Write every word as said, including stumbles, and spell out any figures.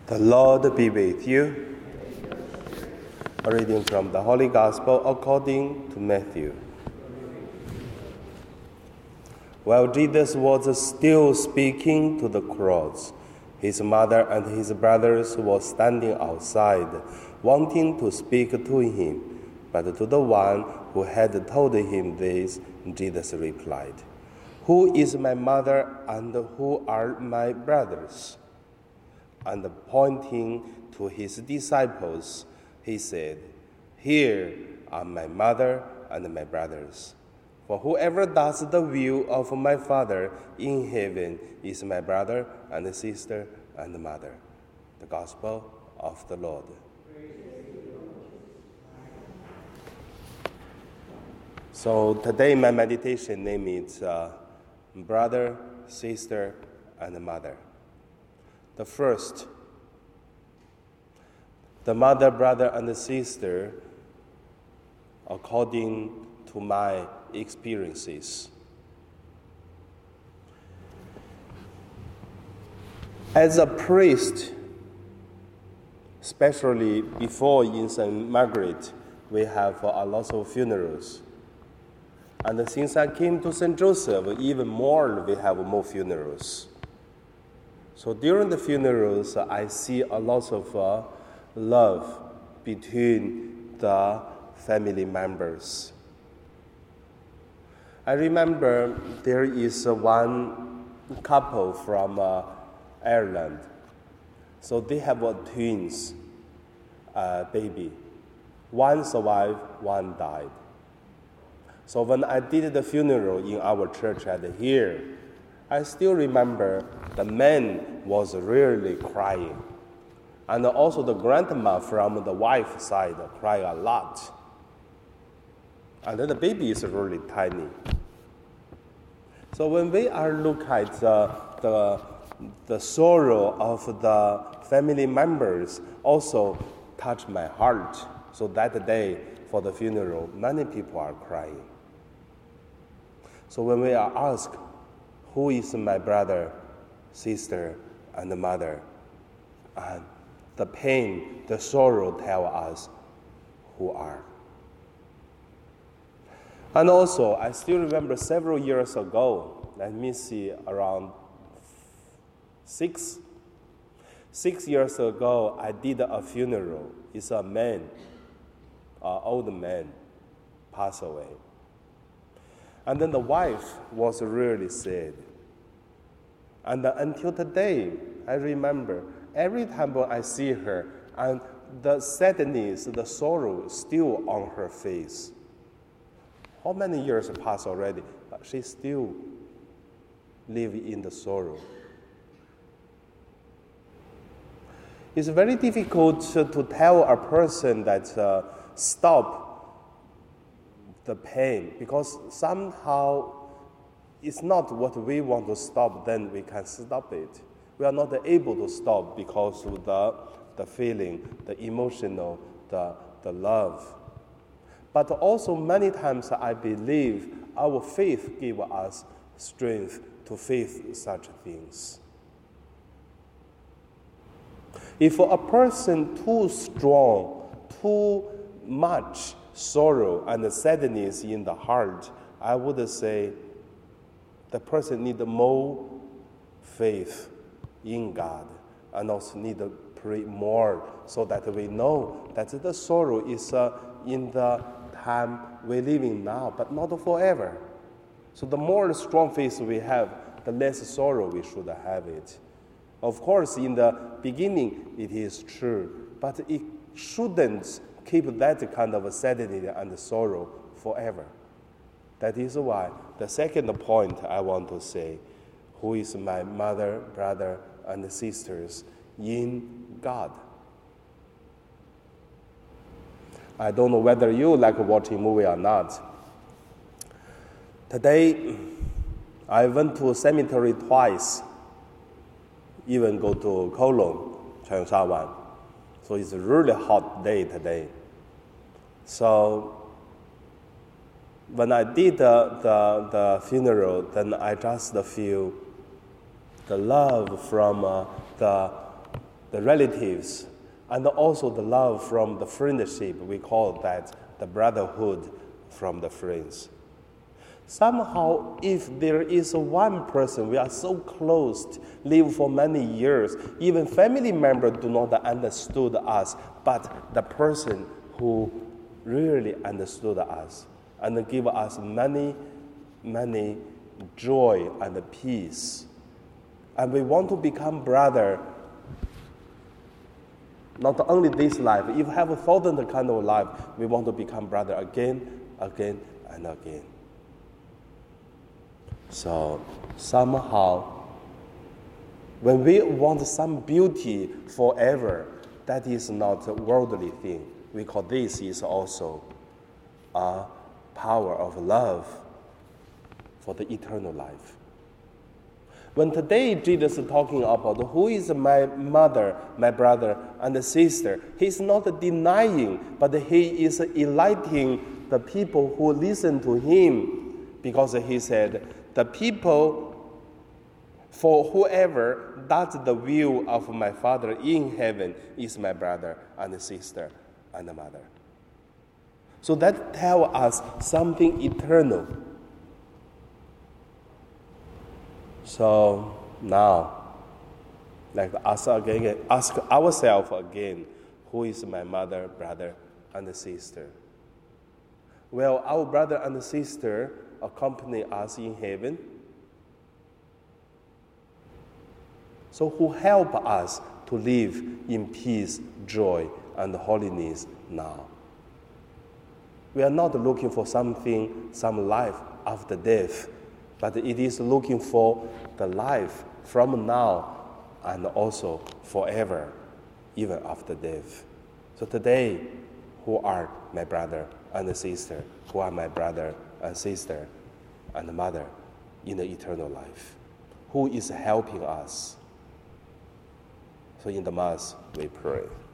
The Lord be with you. A reading from the Holy Gospel according to Matthew. While Jesus was still speaking to the crowds, his mother and his brothers were standing outside, wanting to speak to him. But to the one who had told him this, Jesus replied, "Who is my mother and who are my brothers?" And pointing to his disciples, he said, "Here are my mother and my brothers. For whoever does the will of my Father in heaven is my brother and sister and mother." The Gospel of the Lord. So today my meditation name is uh, brother, sister, and mother. The first, the mother, brother, and the sister, according to my experiences. As a priest, especially before in Saint Margaret, we have a lot of funerals. And since I came to Saint Joseph, even more, we have more funerals. So during the funerals, I see a lot of uh, love between the family members. I remember there is uh, one couple from uh, Ireland. So they have a twins uh, baby. One survived, one died. So when I did the funeral in our church at here, I still remember the man was really crying. And also the grandma from the wife's side cried a lot. And then the baby is really tiny. So when we are look at uh, the, the sorrow of the family members also touch my heart. So that day for the funeral, many people are crying. So when we are asked, who is my brother, sister, and mother? And the pain, the sorrow tell us who are. And also, I still remember several years ago, let me see, around six, six years ago, I did a funeral. It's a man, an old man, passed away. And then the wife was really sad. And until today, I remember every time when I see her, and the sadness, the sorrow still on her face. How many years passed already, but she still lives in the sorrow. It's very difficult to, to tell a person that uh, stop the pain, because somehow it's not what we want to stop, then we can stop it. We are not able to stop because of the, the feeling, the emotional, the, the love. But also many times I believe our faith gives us strength to face such things. If a person too strong, too much sorrow and sadness in the heart, I would say the person needs more faith in God and also need to pray more so that we know that the sorrow is uh, in the time we're living now, but not forever. So the more strong faith we have, the less sorrow we should have it. Of course, in the beginning, it is true, but it shouldn't keep that kind of sadness and sorrow forever. That is why the second point I want to say, who is my mother, brother, and sisters in God. I don't know whether you like watching movie or not. Today, I went to cemetery twice, even go to Kowloon, Cheongsha. So it's a really hot day today. So when I did the, the, the funeral, then I just feel the love from uh, the the relatives, and also the love from the friendship. We call that the brotherhood from the friends. Somehow, if there is one person we are so close, live for many years, even family members do not understood us, but the person who really understood us and give us many, many joy and peace. And we want to become brother. Not only this life, if you have a thousand kind of life, we want to become brother again, again, and again. So somehow, when we want some beauty forever, that is not a worldly thing. We call this is also a power of love for the eternal life. When today Jesus is talking about who is my mother, my brother, and sister, he's not denying, but he is enlightening the people who listen to him, because he said, the people, for whoever does the will of my Father in heaven is my brother and sister and mother. So that tells us something eternal. So now, like ask again, ask ourselves again, who is my mother, brother, and sister? Well, our brother and sister accompany us in heaven. So who help us to live in peace, joy, and holiness now. We are not looking for something, some life after death, but it is looking for the life from now and also forever, even after death. So today, who are my brother and sister? Who are my brother and sister and mother in the eternal life? Who is helping us? So in the Mass, we pray.